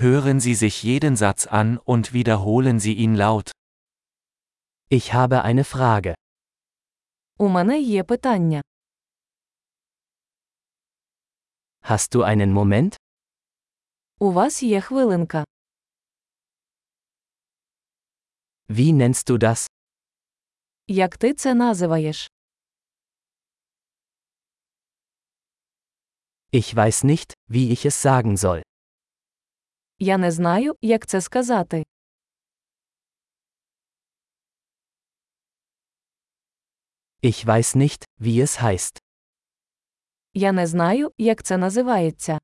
Hören Sie sich jeden Satz an und wiederholen Sie ihn laut. Ich habe eine Frage. У мене є питання. Hast du einen Moment? У вас є хвилинка. Wie nennst du das? Як ти це називаєш? Ich weiß nicht, wie ich es sagen soll. Я не знаю, як це сказати. Ich weiß nicht, wie es heißt. Я не знаю, як це називається.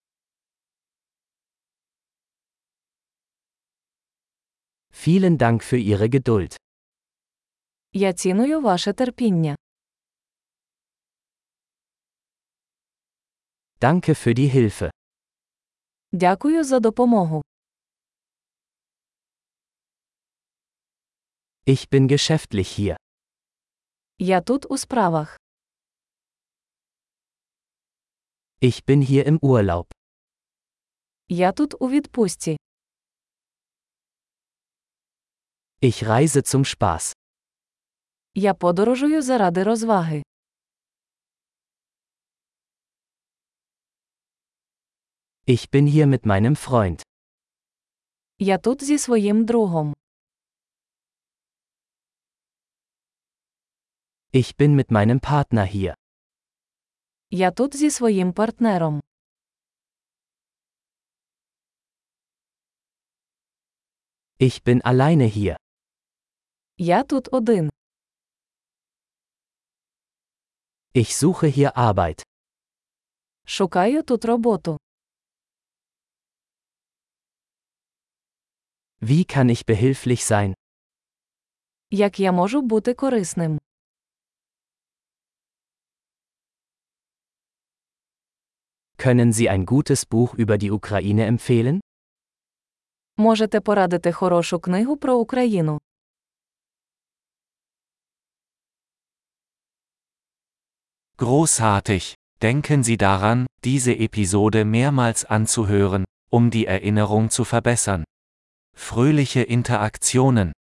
Vielen Dank für Ihre Geduld. Я ціную ваше терпіння. Danke für die Hilfe. Дякую за допомогу. Ich bin geschäftlich hier. Я тут у справах. Ich bin hier im Urlaub. Я тут у відпустці. Ich reise zum Spaß. Я подорожую заради розваги. Ich bin hier mit meinem Freund. Я тут зі своїм другом. Ich bin mit meinem Partner hier. Я тут зі своїм партнером. Ich bin alleine hier. Я тут один. Ich suche hier Arbeit. Шукаю тут роботу. Wie kann ich behilflich sein? Як я можу бути корисним? Können Sie ein gutes Buch über die Ukraine empfehlen? Можете порадити хорошу книгу про Україну? Großartig! Denken Sie daran, diese Episode mehrmals anzuhören, um die Erinnerung zu verbessern. Fröhliche Interaktionen!